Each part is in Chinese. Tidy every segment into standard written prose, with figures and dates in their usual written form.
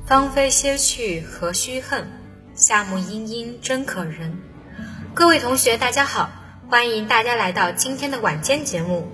芳菲歇去何须恨，夏木阴阴真可人。各位同学大家好，欢迎大家来到今天的晚间节目。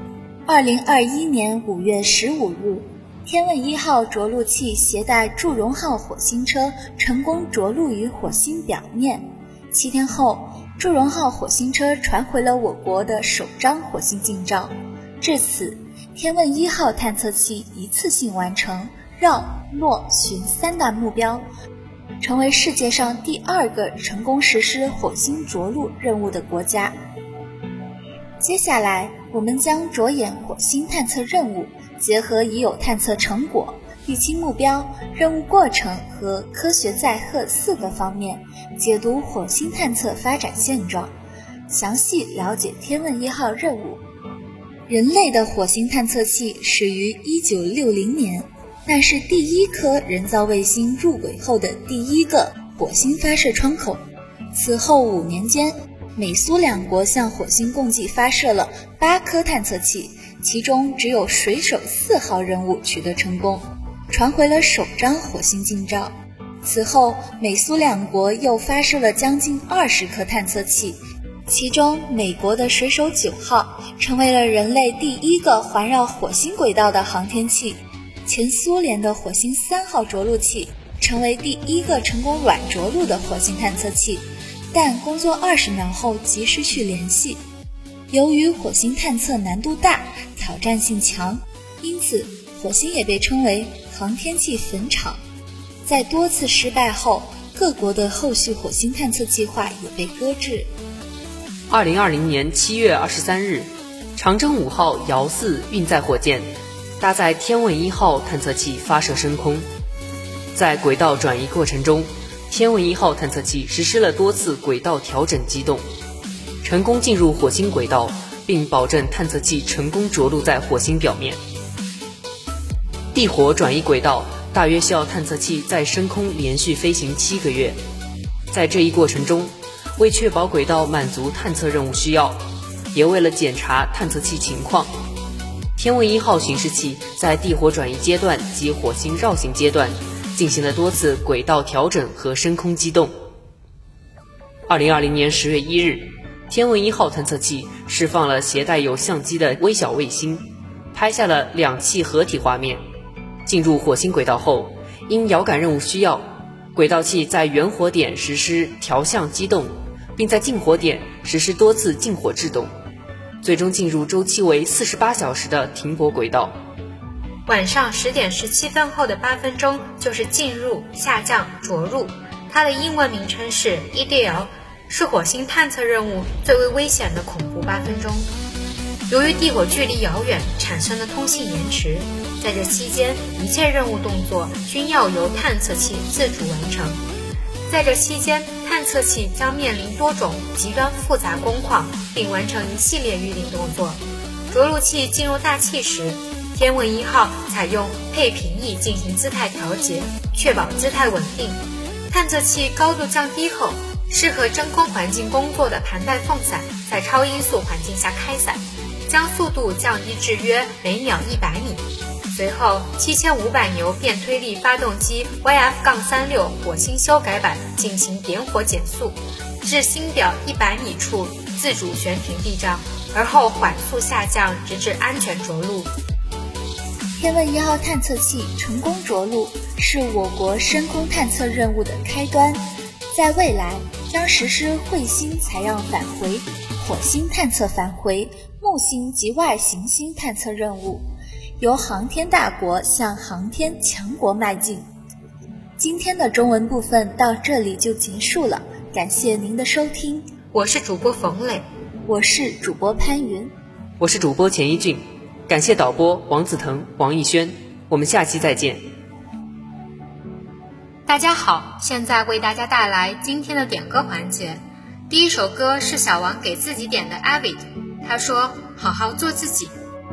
2021年5月15日，天问1号着陆器携带祝融号火星车成功着陆于火星表面。7天后，祝融号火星车传回了我国的首张火星近照。至此，天问1号探测器一次性完成绕、落、巡3大目标，成为世界上第2个成功实施火星着陆任务的国家。接下来，我们将着眼火星探测任务，结合已有探测成果、预期目标、任务过程和科学载荷4个方面，解读火星探测发展现状，详细了解天问1号任务。人类的火星探测器始于1960年，那是第1颗人造卫星入轨后的第1个火星发射窗口。此后5年间，美苏2国向火星共计发射了8颗探测器，其中只有水手4号任务取得成功，传回了首张火星近照。此后，美苏2国又发射了将近20颗探测器，其中美国的水手9号成为了人类第1个环绕火星轨道的航天器，前苏联的火星3号着陆器成为第1个成功软着陆的火星探测器，但工作20秒后即失去联系。由于火星探测难度大，挑战性强，因此火星也被称为航天器坟场。在多次失败后，各国的后续火星探测计划也被搁置。 2020年7月23日，长征5号遥4运载火箭搭载天问1号探测器发射升空。在轨道转移过程中，天问1号探测器实施了多次轨道调整机动，成功进入火星轨道，并保证探测器成功着陆在火星表面。地火转移轨道大约需要探测器在升空连续飞行7个月。在这一过程中，为确保轨道满足探测任务需要，也为了检查探测器情况，天问1号巡视器在地火转移阶段及火星绕行阶段进行了多次轨道调整和升空机动。2020年10月1日，天问1号探测器释放了携带有相机的微小卫星，拍下了2器合体画面。进入火星轨道后，因遥感任务需要，轨道器在远火点实施调向机动，并在近火点实施多次近火制动，最终进入周期为48小时的停泊轨道。 晚上10点17分后的8分钟就是进入、下降、着陆，它的英文名称是 EDL， 是火星探测任务最为危险的恐怖8分钟。由于地火距离遥远产生的通信延迟，在这期间一切任务动作均要由探测器自主完成。在这期间，探测器将面临多种极端复杂工况，并完成一系列预定动作。着陆器进入大气时，天问1号采用配平翼进行姿态调节，确保姿态稳定。探测器高度降低后，适合真空环境工作的盘带风伞在超音速环境下开伞，将速度降低至约每秒100米。随后，7500牛变推力发动机 YF-36 火星修改版进行点火减速，至星表100米处自主悬停避障，而后缓速下降，直至安全着陆。 天问1号探测器成功着陆，是我国深空探测任务的开端，在未来将实施彗星采样返回、火星探测返回、木星及外行星探测任务，由航天大国向航天强国迈进。今天的中文部分到这里就结束了，感谢您的收听。 我是主播冯磊， 我是主播潘云， 我是主播钱一俊，感谢导播王子腾、王艺轩，我们下期再见。 大家好，现在为大家带来今天的点歌环节。第一首歌是小王给自己点的 Avid， 他说好好做自己。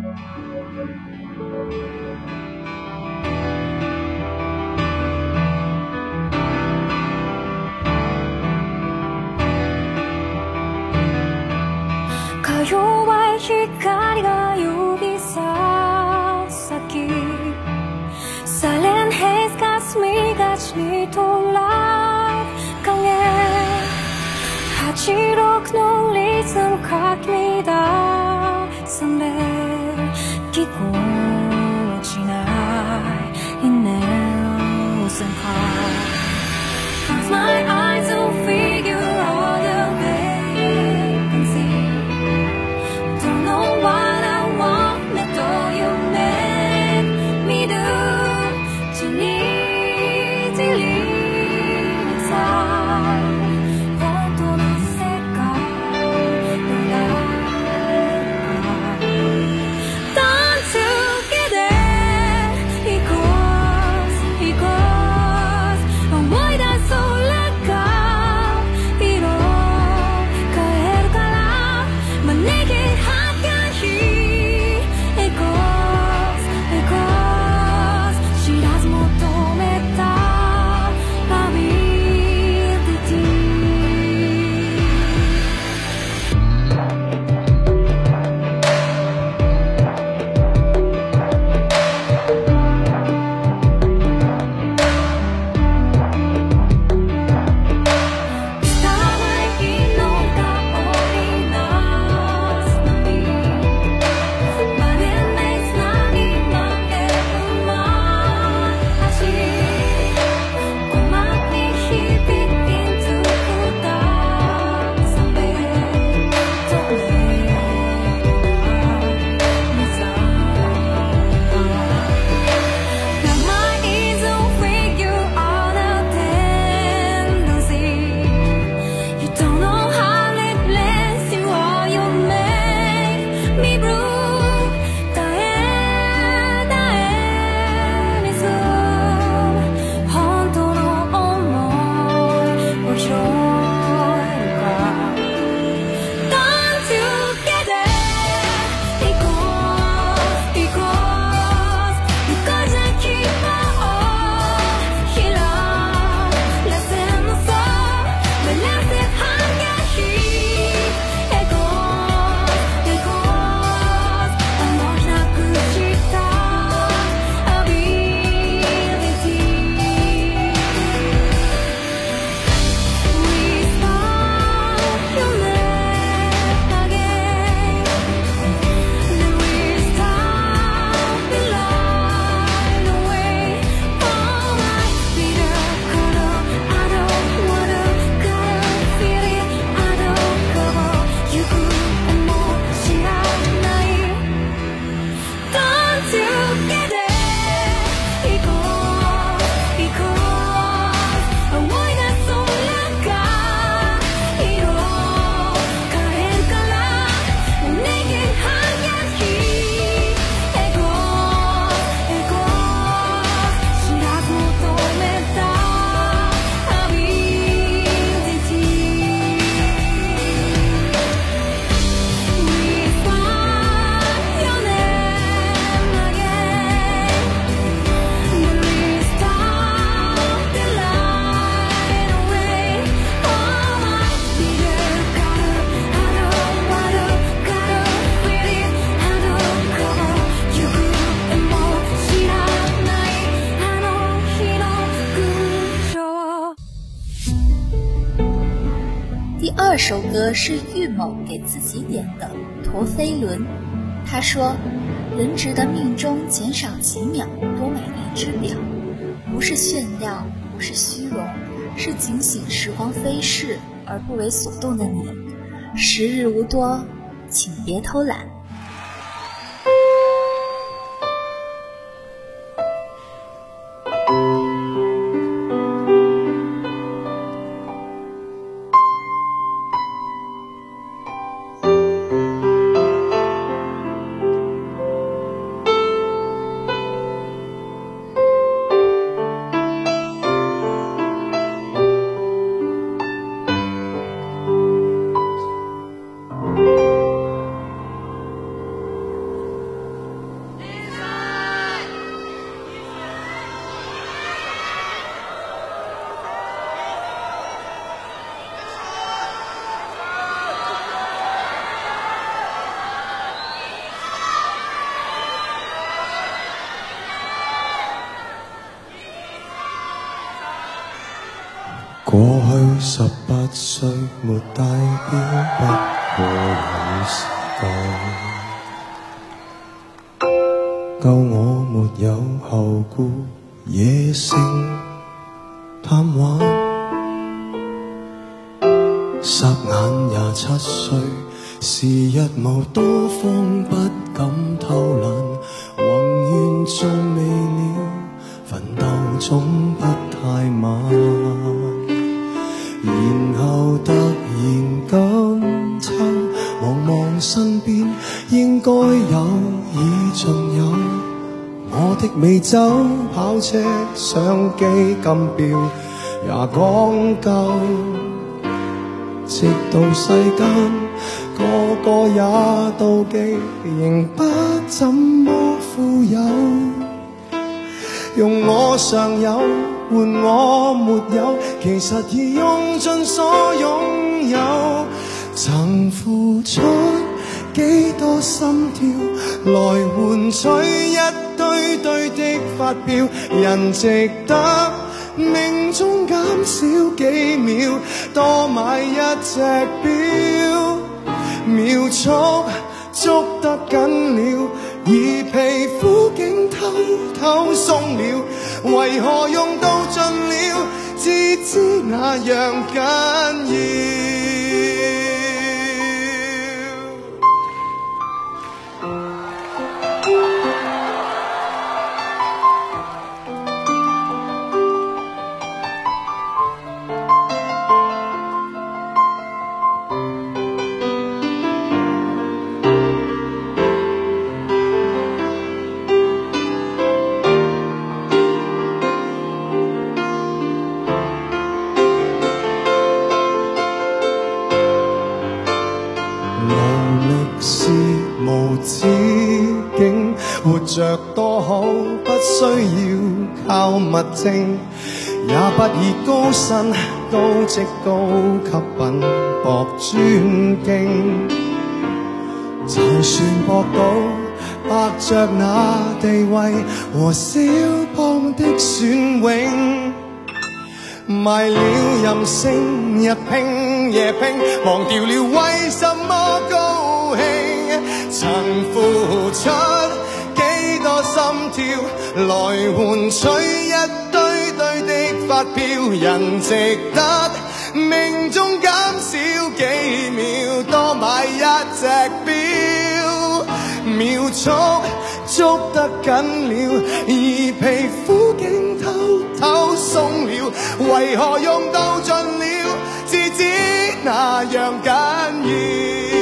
か弱い光が指さ先サイレンヘイズ霞が to life 강해 하지록 너 리듬 각니다 선배 끼고 지나 있는 웃음 Close my eyes to figure all the vacancy Don't know what I want 내 또 you make me do 진이 들리는 사이 본토는 색깔 Done together equals思い出そう第二首歌是玉某给自己点的《陀飞轮》，他说：“人值得命中减少几秒，多买一只表，不是炫耀，不是虚荣，是警醒时光飞逝而不为所动的你。时日无多，请别偷懒。” 過去18歲沒戴錶，不過有時夠我沒有後顧，野性貪玩，霎眼27歲，時日無多方，不敢偷懶，宏願仲未了，奮鬥總不太晚，然後突然今秋，望望身邊應該有，已盡有我的美酒、跑車、相機、金錶也講究，直到世間個個也妒忌，仍不怎麼富有，用我尚有換我沒有，其實已用盡所擁有，曾付出幾多心跳來換取一堆堆的發票，人值得命中減少幾秒，多買一隻錶，秒速捉得緊了，而皮膚竟偷偷鬆了，為何用到盡了，至知那樣緊要。無止境，活着多好，不需要靠物證，也不以高薪高職高級品博尊敬，就算博到伯爵那地位和肖邦的雋永，賣了任性，日拼夜拼，忘掉了為什麼高興，曾付出幾多心跳來換取一堆堆的發票，人值得命中減少幾秒，多買一隻錶，秒速捉得緊了，而皮膚竟偷偷鬆了，為何用到盡了，至知那樣緊要。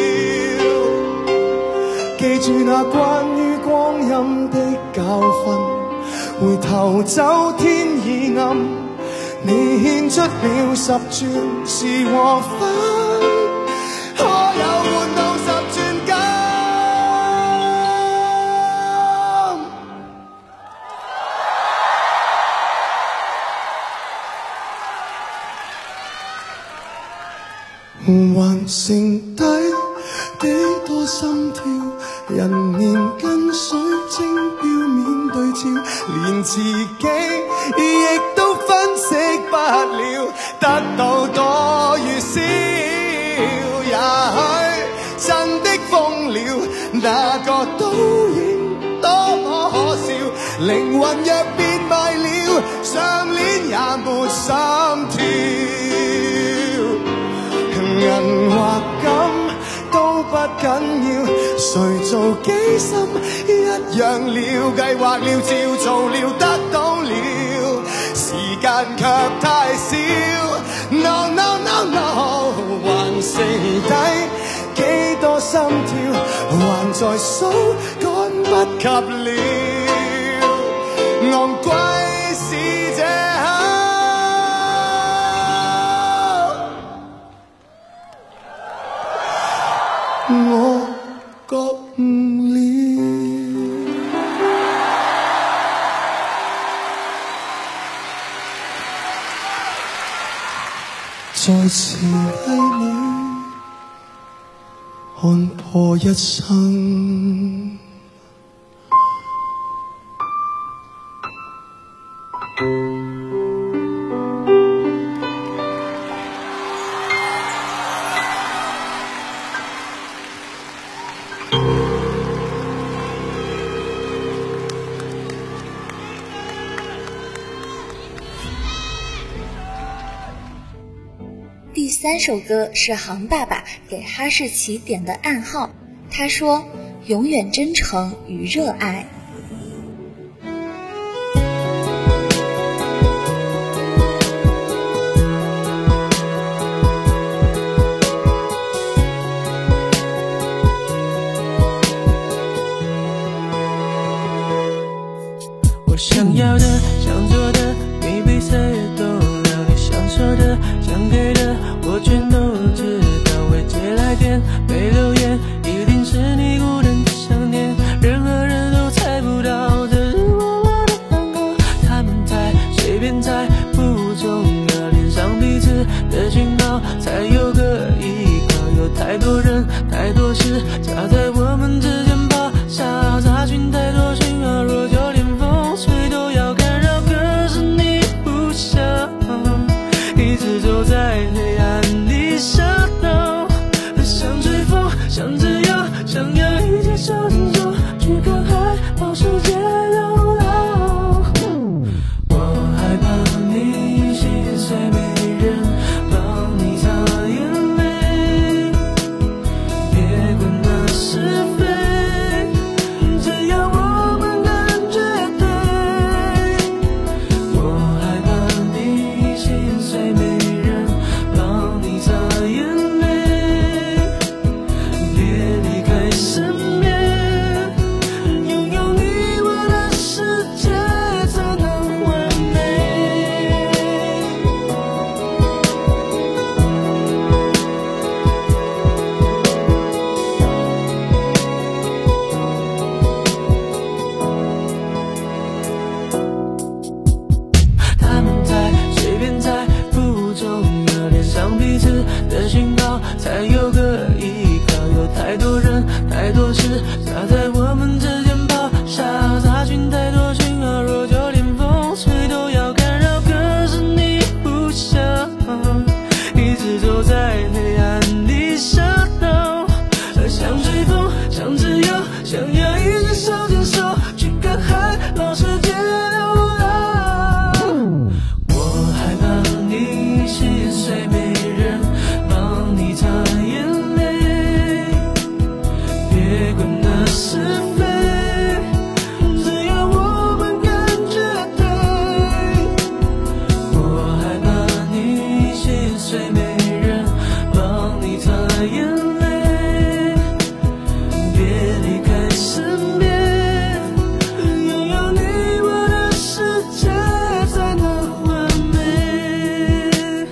記住那關於光陰的教訓，回頭走天已暗，你獻出了10轉是和分，可有換到10轉金？還剩低幾多心跳，人面跟水晶錶面對照，連自己亦都分析不了，得到多與少，也許真的瘋了，哪個倒影多麼可笑，靈魂若變賣了，上鏈也沒心跳，銀或金都不緊要，誰做機心一樣了，計劃了照做了，得到了，時間卻太少， No no no no， 還剩低幾多心跳，還在數，趕不及了，昂貴是這刻。我覺悟了，再次低了，看破一生。 3首歌是杭爸爸给哈士奇点的暗号，他说永远真诚与热爱。 我想要的想做的比比赛也都了，你想说的想给的我全都知道，未接来电没留言，一定是你孤单的想念，任何人都猜不到这是我的暗号，他们猜随便猜不重要，连上彼此的讯号才有个依靠，有太多人太多事夹在我们之间跑，查询太多讯号，若就连风吹都要干扰，可是你不想一直走在黑暗里shadow，想吹风想自由，想要一起手牵手去看海，把世界流浪，我害怕你心碎没人帮你擦眼泪，别管那是非，只要我们感觉对，我害怕你心碎没人帮你擦眼泪，别离开身边，拥有你我的世界才能完美。他们猜随便猜不重要，连上彼此的讯号才有个依靠，有太多人太多事夹在我们之间跑，查询太多讯号，若就连风吹都要干扰，可是你不想一直走在黑暗里shadow，想吹风想自由，想要一直手牵手去看海，让世界流浪，我害怕你心碎没人帮你擦眼泪，别管那是非，只要我们感觉对，我害怕你心碎没人帮你擦眼泪，别离开身边，拥有你我的世界才能完美。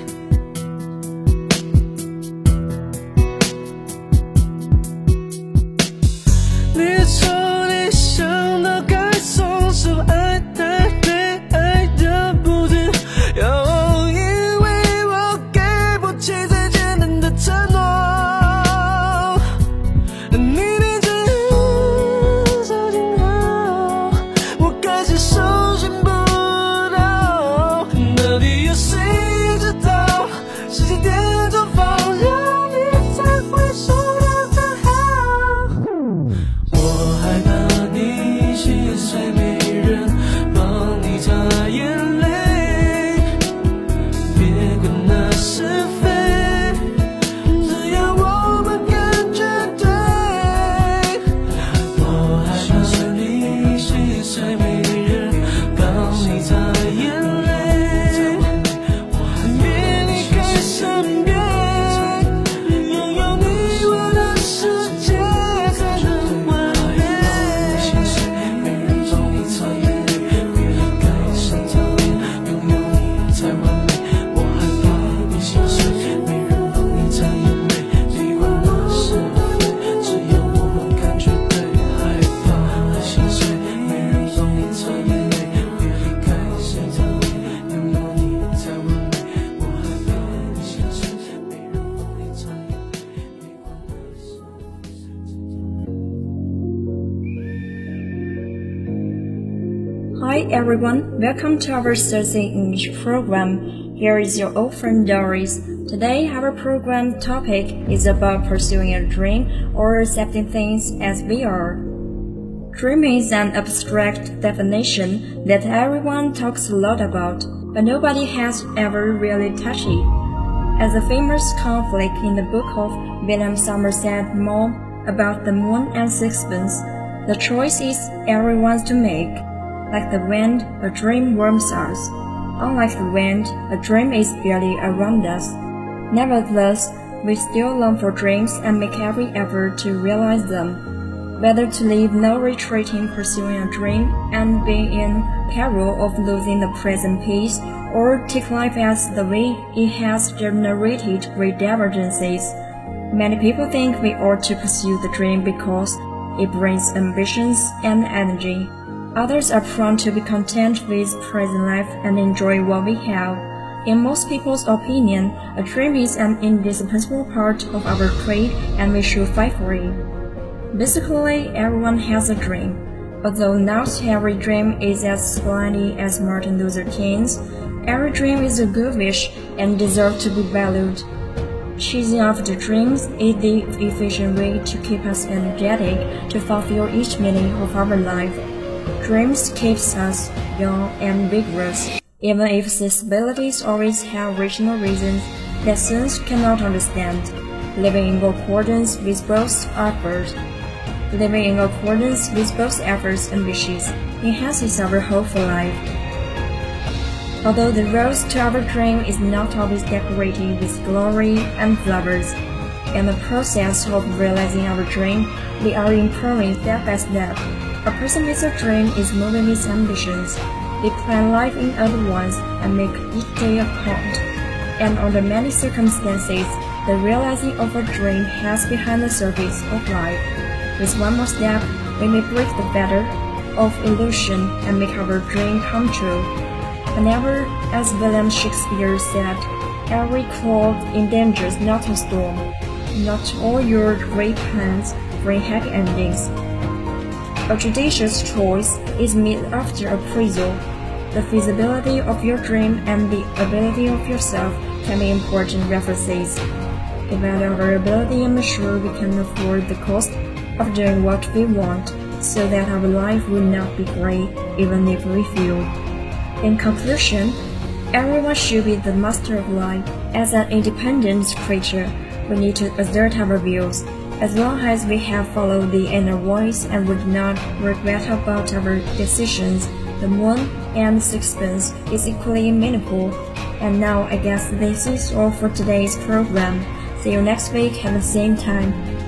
你说你想到该松手，爱太累，爱的不自由，因为我给不起最简单的承诺，你的最后手牵好，我开始手寻不到，到底有谁知道时间点错方向，你才会收到真好，我害怕你心碎没人帮你擦眼泪，别管那是非，只要我们感觉对，我害怕你心碎没人帮你擦眼泪，别离开身边，拥有你我的世界才能完美。心碎没人帮你擦眼泪，别离开身边，拥有你才完美。我害怕你心碎没人帮你擦眼泪，别管那是非，只要我们感觉对。害怕心碎没人帮你擦眼泪，别离开身边，拥有你才完美。我害怕你心碎没人帮你擦眼泪，别管那是 Hi everyone, welcome to our Thursday English program. Here is your old friend Doris. Today our program topic is about pursuing a dream or accepting things as they are. Dream is an abstract definition that everyone talks a lot about, but nobody has ever really touched it. As the famous conflict in the book of William Somerset Maugham about the moon and sixpence, the choice is everyone's to make. Like the wind, a dream warms us. Unlike the wind, a dream is barely around us. Nevertheless, we still long for dreams and make every effort to realize them. Whether to leave no retreat in pursuing a dream and be in peril of losing the present peace, or take life as the way it has generated great divergences. Many people think we ought to pursue the dream because it brings ambitions and energy. Others are prone to be content with present life and enjoy what we have. In most people's opinion, a dream is an indispensable part of our creed and we should fight for it. Basically, everyone has a dream. Although not every dream is as splendid as Martin Luther King's, every dream is a good wish and deserves to be valued. Chasing after dreams is the efficient way to keep us energetic to fulfill each meaning of our life. Dreams keeps us young and vigorous, even if these abilities always have rational reasons that science cannot understand. Living in accordance with both efforts and wishes enhances our hope for life. Although the road to our dream is not always decorated with glory and flowers, in the process of realizing our dream, we are improving step by step. A person with a dream is moving his ambitions. They plan life in other ones and make each day a count. And under many circumstances, the realizing of a dream has behind the surface of life. With one more step, we may break the fetter of illusion and make our dream come true. Whenever, as William Shakespeare said, every cloud endangers not a storm. Not all your great plans bring happy endings. A judicious choice is made after appraisal. The feasibility of your dream and the ability of yourself can be important references. About our ability and ensure we can afford the cost of doing what we want, so that our life will not be great even if we fail. In conclusion, everyone should be the master of life. As an independent creature, we need to assert our views. As long as we have followed the inner voice and would not regret about our decisions, the moon and sixpence is equally meaningful. And now I guess this is all for today's program. See you next week at the same time.